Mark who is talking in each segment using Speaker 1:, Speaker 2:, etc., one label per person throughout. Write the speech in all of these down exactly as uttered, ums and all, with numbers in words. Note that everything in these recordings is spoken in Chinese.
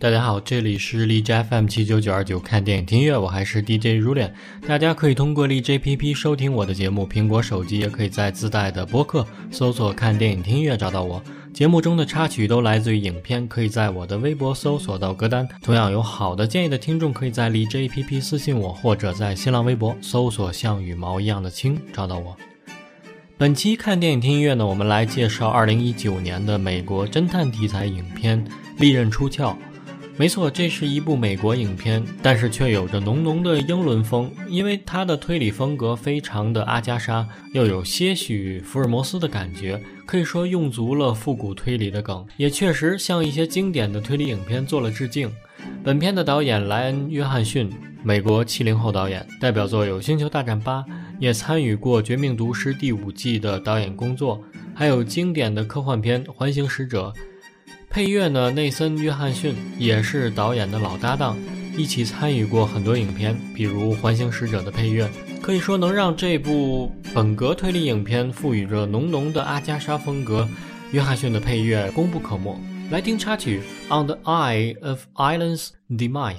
Speaker 1: 大家好，这里是荔枝 F M 七九九二九看电影听音乐，我还是 D J Rulian。大家可以通过荔枝 A P P 收听我的节目，苹果手机也可以在自带的播客搜索看电影听音乐找到我。节目中的插曲都来自于影片，可以在我的微博搜索到歌单。同样有好的建议的听众，可以在荔枝 A P P 私信我，或者在新浪微博搜索像羽毛一样的青找到我。本期看电影听音乐呢，我们来介绍二零一九年的美国侦探题材影片《利刃出鞘》。没错，这是一部美国影片，但是却有着浓浓的英伦风，因为它的推理风格非常的阿加莎，又有些许福尔摩斯的感觉，可以说用足了复古推理的梗，也确实向一些经典的推理影片做了致敬。本片的导演莱恩·约翰逊，美国七零后导演，代表作有《星球大战八》，也参与过《绝命毒师》第五季的导演工作，还有经典的科幻片《环形使者》。配乐呢，内森·约翰逊也是导演的老搭档，一起参与过很多影片，比如《环形使者》的配乐，可以说能让这部本格推理影片赋予着浓浓的阿加莎风格。约翰逊的配乐功不可没。来听插曲《On the Eye of Island's Demise》。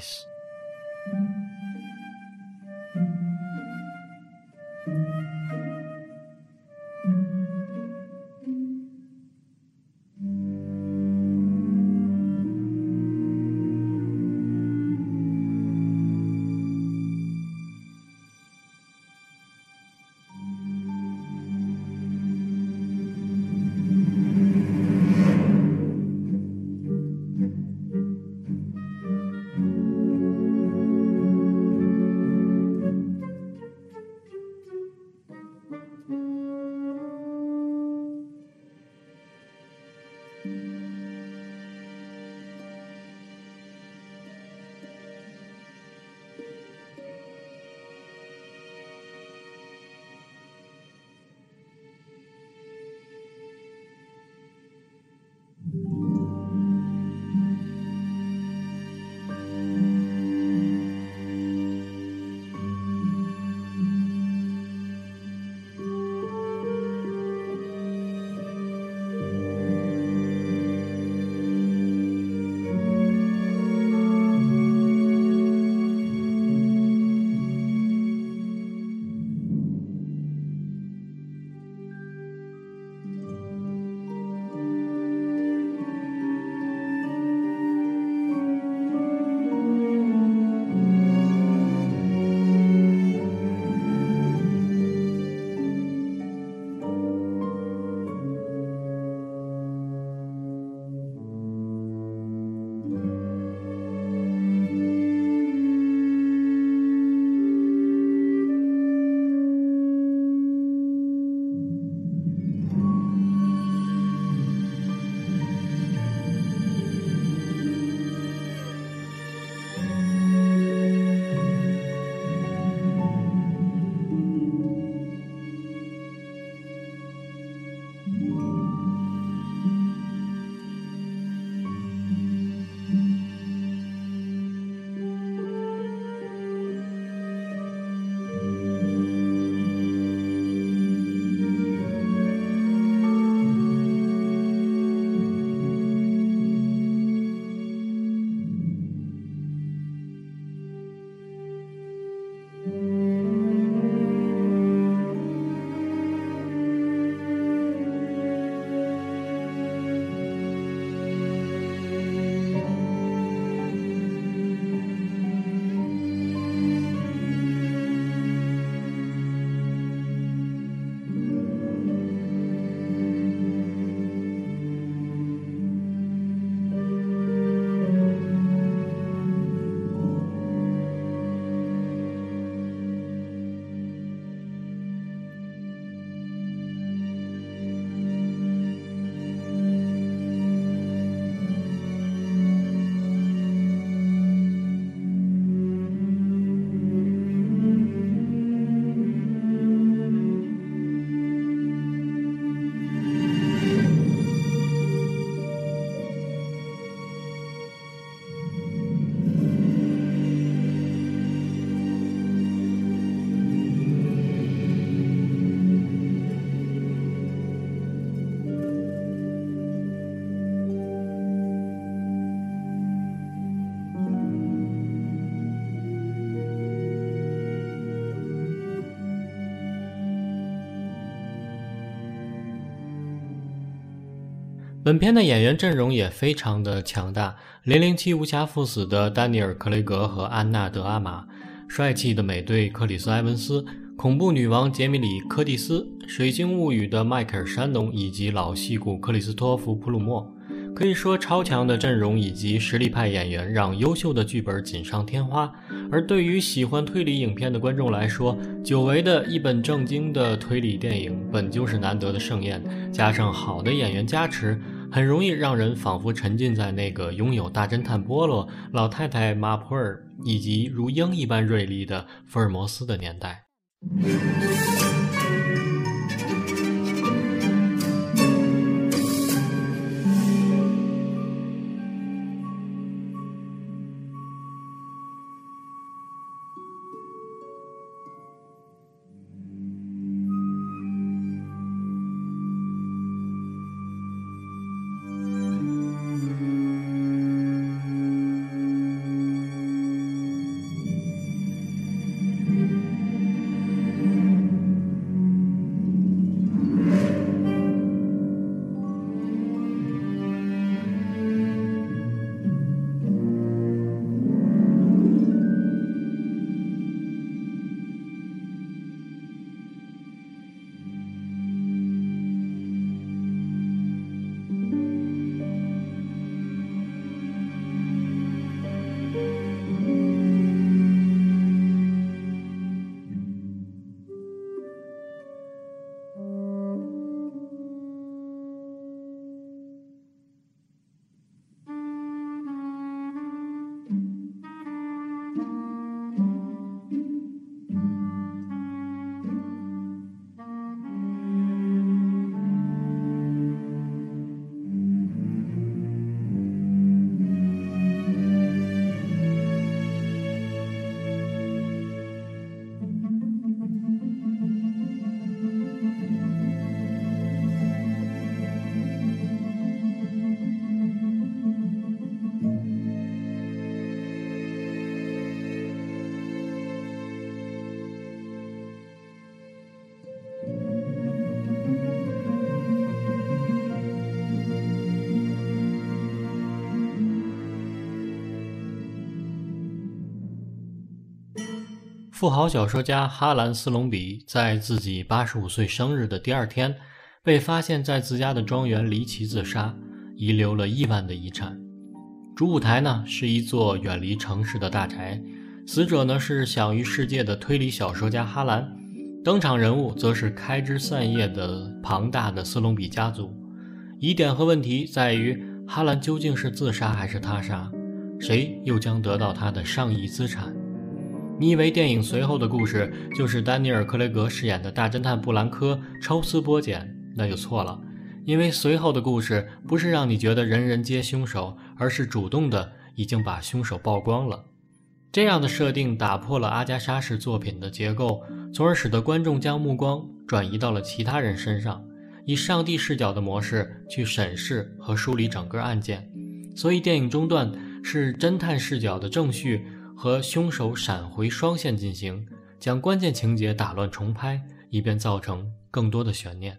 Speaker 1: 本片的演员阵容也非常的强大，零零七无暇赴死的丹尼尔·克雷格和安娜·德阿玛，帅气的美队克里斯·埃文斯，恐怖女王杰米里·柯蒂斯，水星物语的迈克尔·山农以及老戏骨克里斯托弗·普鲁默。可以说，超强的阵容以及实力派演员让优秀的剧本锦上添花。而对于喜欢推理影片的观众来说，久违的一本正经的推理电影本就是难得的盛宴，加上好的演员加持，很容易让人仿佛沉浸在那个拥有大侦探波洛、老太太马普尔以及如鹰一般锐利的福尔摩斯的年代。富豪小说家哈兰·斯隆比在自己八十五岁生日的第二天，被发现在自家的庄园离奇自杀，遗留了亿万的遗产。主舞台呢是一座远离城市的大宅，死者呢是享誉世界的推理小说家哈兰，登场人物则是开枝散叶的庞大的斯隆比家族。疑点和问题在于，哈兰究竟是自杀还是他杀？谁又将得到他的上亿资产？你以为电影随后的故事就是丹尼尔·克雷格饰演的大侦探布兰科抽丝剥茧，那就错了。因为随后的故事不是让你觉得人人皆凶手，而是主动的已经把凶手曝光了。这样的设定打破了阿加莎式作品的结构，从而使得观众将目光转移到了其他人身上，以上帝视角的模式去审视和梳理整个案件。所以电影中段是侦探视角的正序和凶手闪回双线进行，将关键情节打乱重拍，以便造成更多的悬念。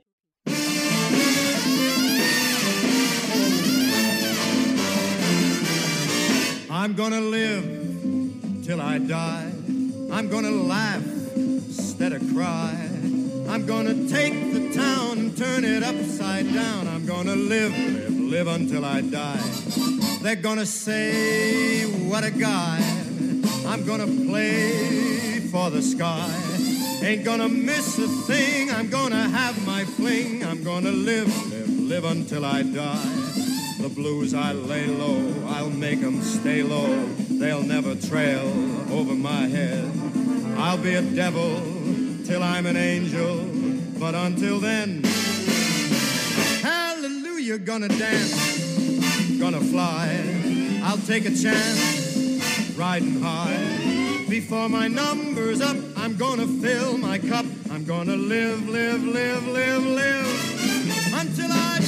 Speaker 2: I'm gonna live till I die. I'm gonna laugh instead of cry. I'm gonna take the town and turn it upside down. I'm gonna live, live, live until I die. They're gonna say, what a guy. I'm gonna play for the sky. Ain't gonna miss a thing. I'm gonna have my fling. I'm gonna live, live, live until I die.The blues I lay low, I'll make them stay low. They'll never trail over my head. I'll be a devil till I'm an angel, but until then, hallelujah, gonna dance, gonna fly. I'll take a chance, riding high. Before my number's up, I'm gonna fill my cup. I'm gonna live, live, live, live, live until I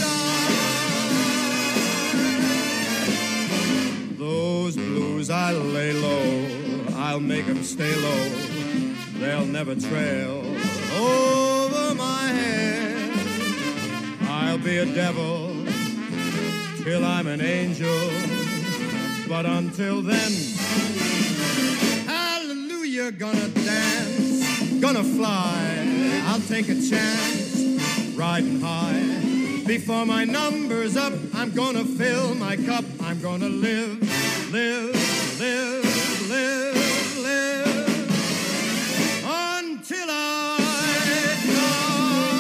Speaker 2: die.Those blues I lay low, I'll make them stay low. They'll never trail over my head. I'll be a devil till I'm an angel. But until then, hallelujah, gonna dance, gonna fly. I'll take a chance, riding high. Before my number's up, I'm gonna fill my cup. I'm gonna live, live, live, live, live until I die.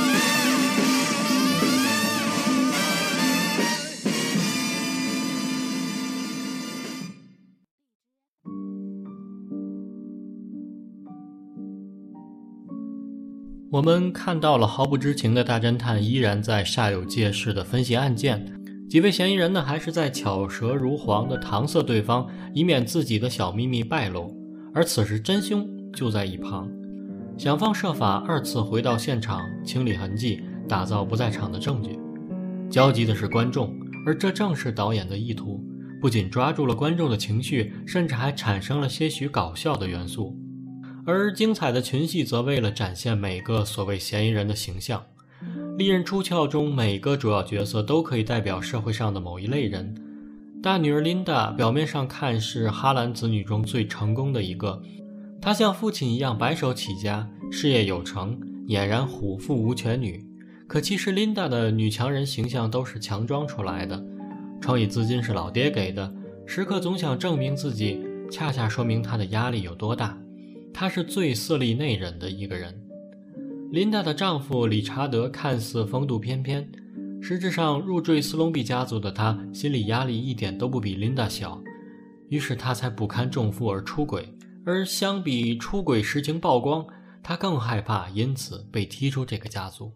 Speaker 1: 我们看到了毫不知情的大侦探依然在煞有介事地分析案件，几位嫌疑人呢还是在巧舌如簧地搪塞对方，以免自己的小秘密败露。而此时真凶就在一旁，想方设法二次回到现场，清理痕迹，打造不在场的证据。焦急的是观众，而这正是导演的意图，不仅抓住了观众的情绪，甚至还产生了些许搞笑的元素。而精彩的群戏则为了展现每个所谓嫌疑人的形象。利刃出鞘中每个主要角色都可以代表社会上的某一类人。大女儿琳达表面上看是哈兰子女中最成功的一个，她像父亲一样白手起家，事业有成，俨然虎父无犬女。可其实琳达的女强人形象都是强装出来的，创意资金是老爹给的，时刻总想证明自己，恰恰说明她的压力有多大。她是最色厉内荏的一个人。琳达的丈夫理查德看似风度翩翩，实质上入赘斯隆比家族的他心理压力一点都不比琳达小，于是他才不堪重负而出轨。而相比出轨实情曝光，他更害怕因此被踢出这个家族。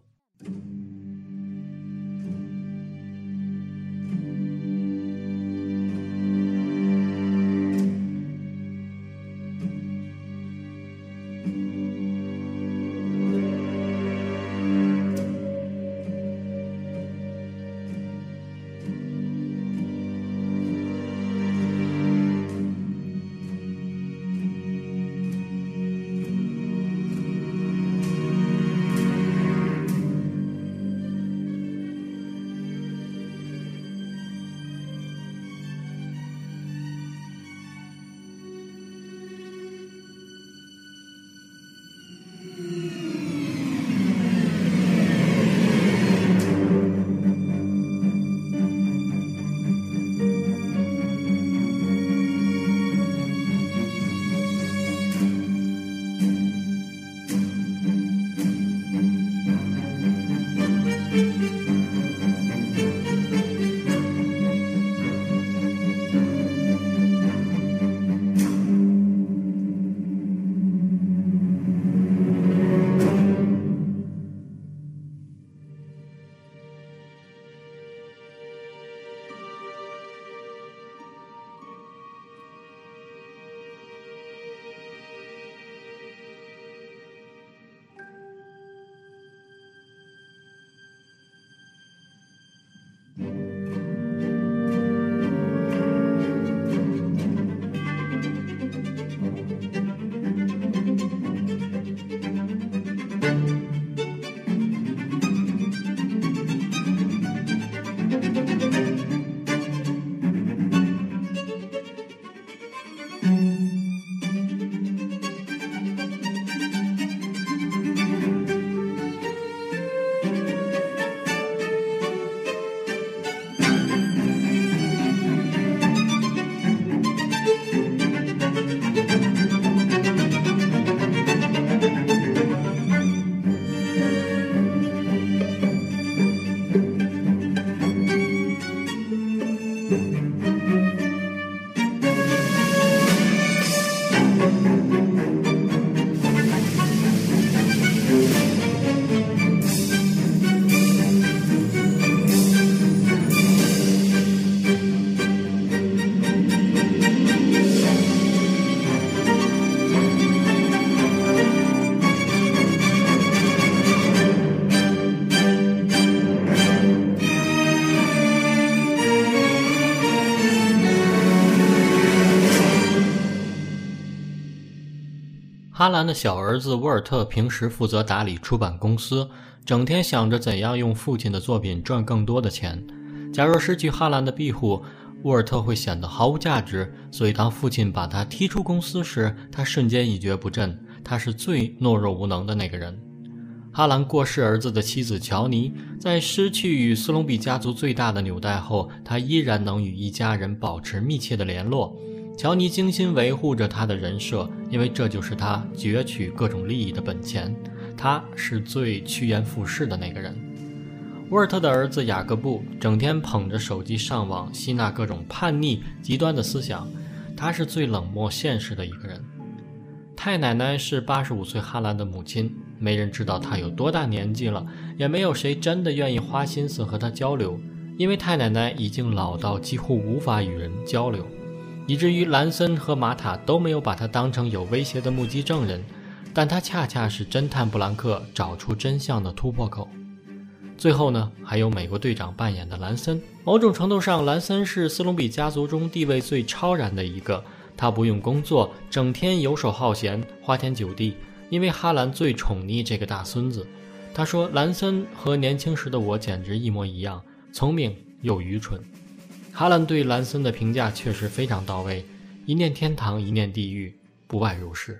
Speaker 1: 哈兰的小儿子沃尔特平时负责打理出版公司，整天想着怎样用父亲的作品赚更多的钱。 假若失去哈兰的庇护，沃尔特会显得毫无价值，所以当父亲把他踢出公司时，他瞬间一蹶不振，他是最懦弱无能的那个人。哈兰过世儿子的妻子乔尼，在失去与斯隆比家族最大的纽带后，他依然能与一家人保持密切的联络。乔尼精心维护着他的人设，因为这就是他攫取各种利益的本钱。他是最趋炎附势的那个人。沃尔特的儿子雅各布整天捧着手机上网，吸纳各种叛逆极端的思想，他是最冷漠现实的一个人。太奶奶是八十五岁哈兰的母亲，没人知道她有多大年纪了，也没有谁真的愿意花心思和她交流，因为太奶奶已经老到几乎无法与人交流，以至于兰森和玛塔都没有把她当成有威胁的目击证人，但她恰恰是侦探布兰克找出真相的突破口。最后呢，还有美国队长扮演的兰森。某种程度上，兰森是斯隆比家族中地位最超然的一个，他不用工作，整天游手好闲，花天酒地，因为哈兰最宠溺这个大孙子。他说兰森和年轻时的我简直一模一样，聪明又愚蠢。哈兰对兰森的评价确实非常到位，一念天堂一念地狱，不外如是。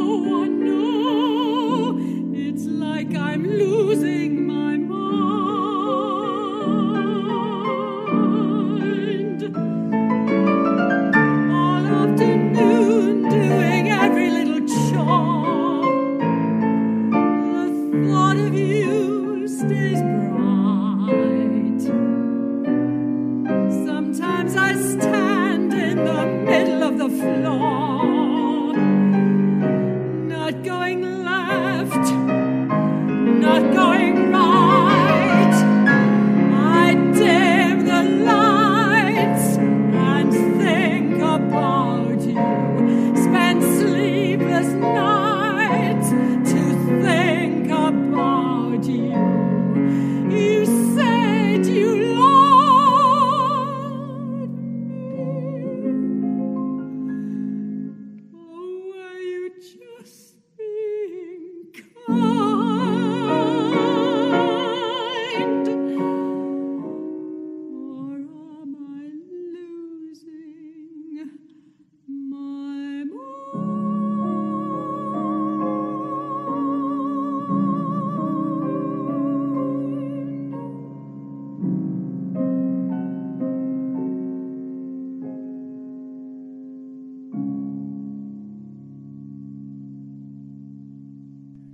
Speaker 3: Like I'm losing my mind.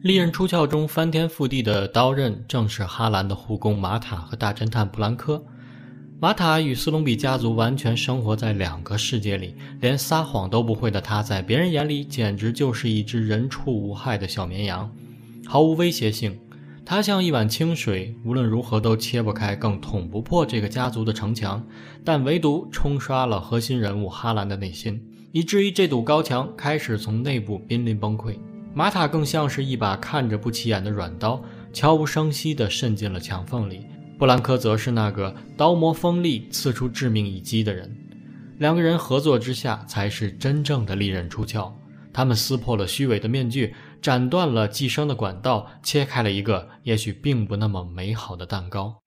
Speaker 1: 利刃出鞘中翻天覆地的刀刃正是哈兰的护工玛塔和大侦探布兰科。玛塔与斯隆比家族完全生活在两个世界里，连撒谎都不会的他在别人眼里简直就是一只人畜无害的小绵羊，毫无威胁性。他像一碗清水，无论如何都切不开更捅不破这个家族的城墙，但唯独冲刷了核心人物哈兰的内心，以至于这堵高墙开始从内部濒临崩溃。玛塔更像是一把看着不起眼的软刀，悄无声息地渗进了墙缝里。布兰科则是那个刀磨锋利刺出致命一击的人。两个人合作之下才是真正的利刃出鞘，他们撕破了虚伪的面具，斩断了寄生的管道，切开了一个也许并不那么美好的蛋糕。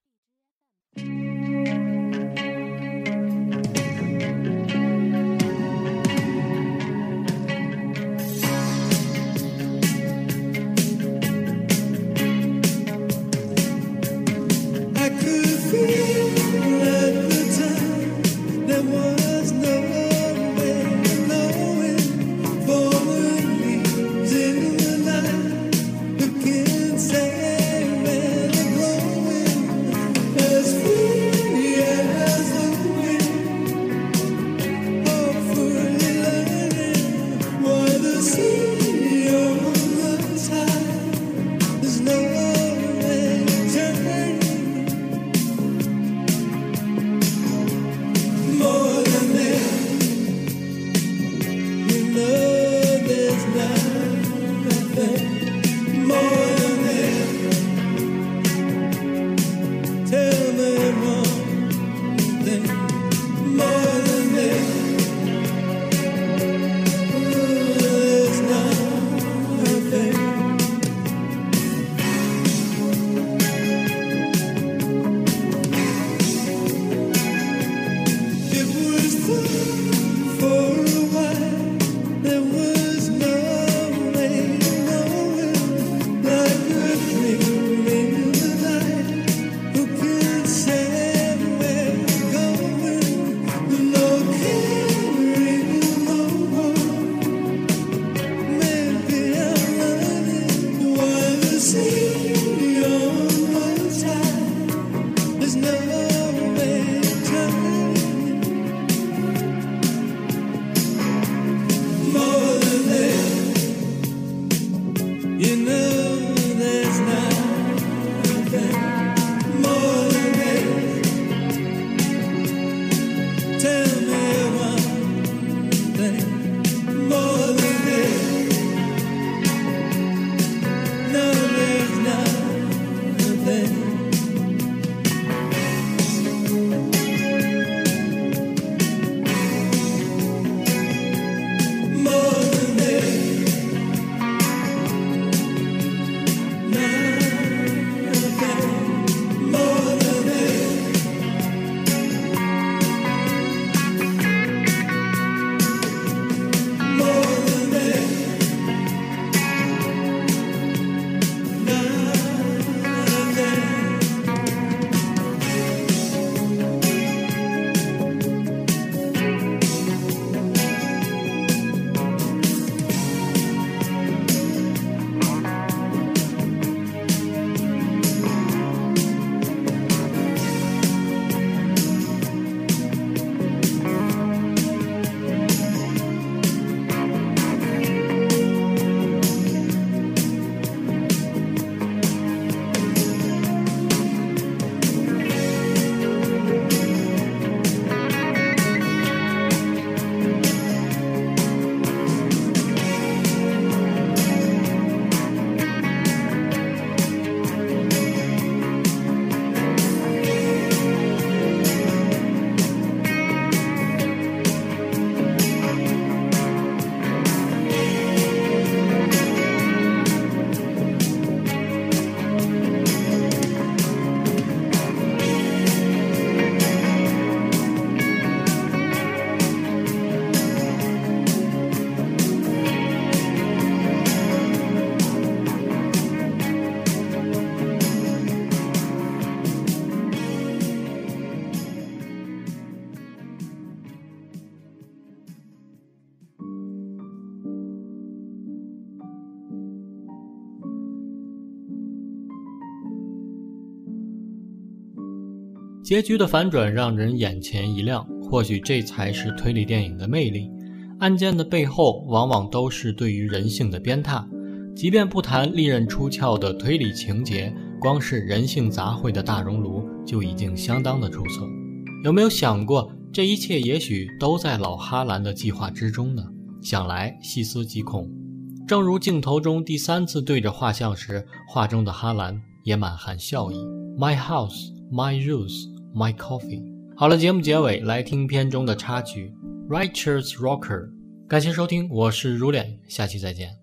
Speaker 1: 结局的反转让人眼前一亮，或许这才是推理电影的魅力。案件的背后往往都是对于人性的鞭挞，即便不谈利刃出鞘的推理情节，光是人性杂烩的大熔炉就已经相当的出色。有没有想过，这一切也许都在老哈兰的计划之中呢？想来细思极恐。正如镜头中第三次对着画像时，画中的哈兰也满含笑意。 My house, my rules, my coffee。 好了，节目结尾来听片中的插曲 Righteous Rocker。 感谢收听，我是如脸，下期再见。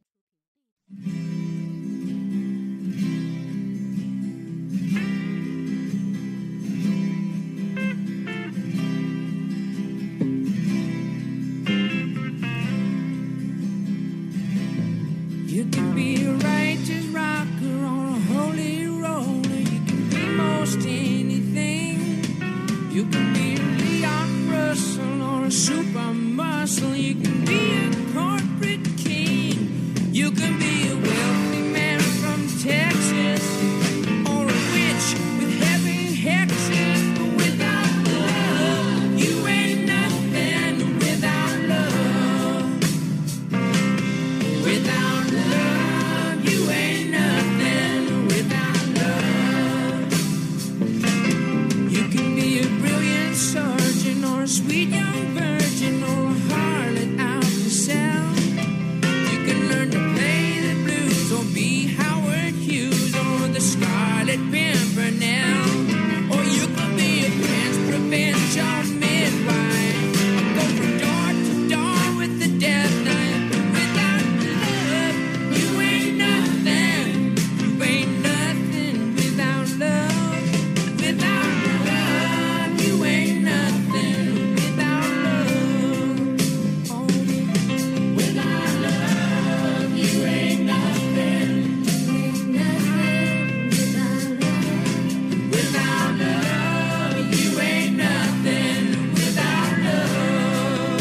Speaker 3: You can be a righteous rocker or a holy roller. You can be most anything. You can be a Leon Russell or a super muscle. You can be a corporate king. You can be a wealthy man from Texas or a witch with heavy hexes. But without love, you ain't nothing. Without love, without love, you ain't nothing. Without love, you can be a brilliant surgeon or a sweet young virgin or a harlot out to sell. You can learn to play the blues or be Howard Hughes or the Scarlet Pimpernel. Or you could be a prince, provincial midwife, or go from door to door with the death knife. Without love, you ain't nothing. You ain't nothing without love. Without love, you ain't nothing. Without love, oh, without love, you ain't nothing. Without love, you ain't nothing. Without love.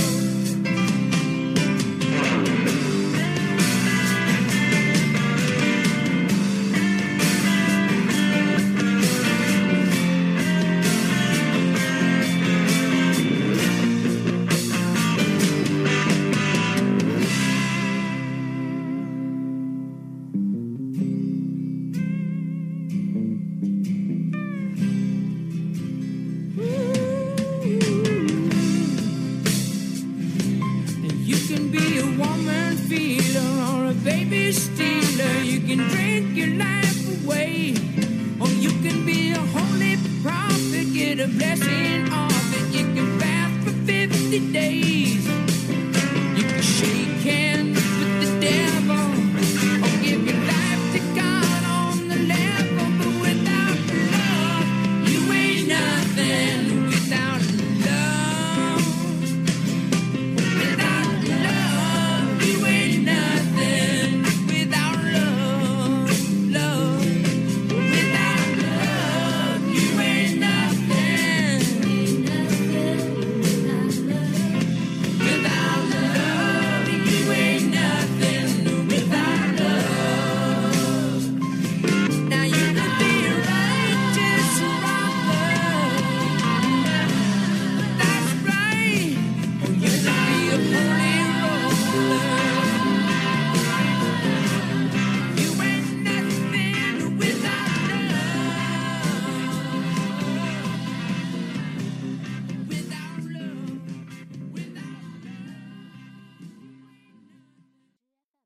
Speaker 3: You can be a woman feeler or a baby stealer. You can drink your life away, or you can be a holy prophet, get a blessing off it. You can fast for fifty days.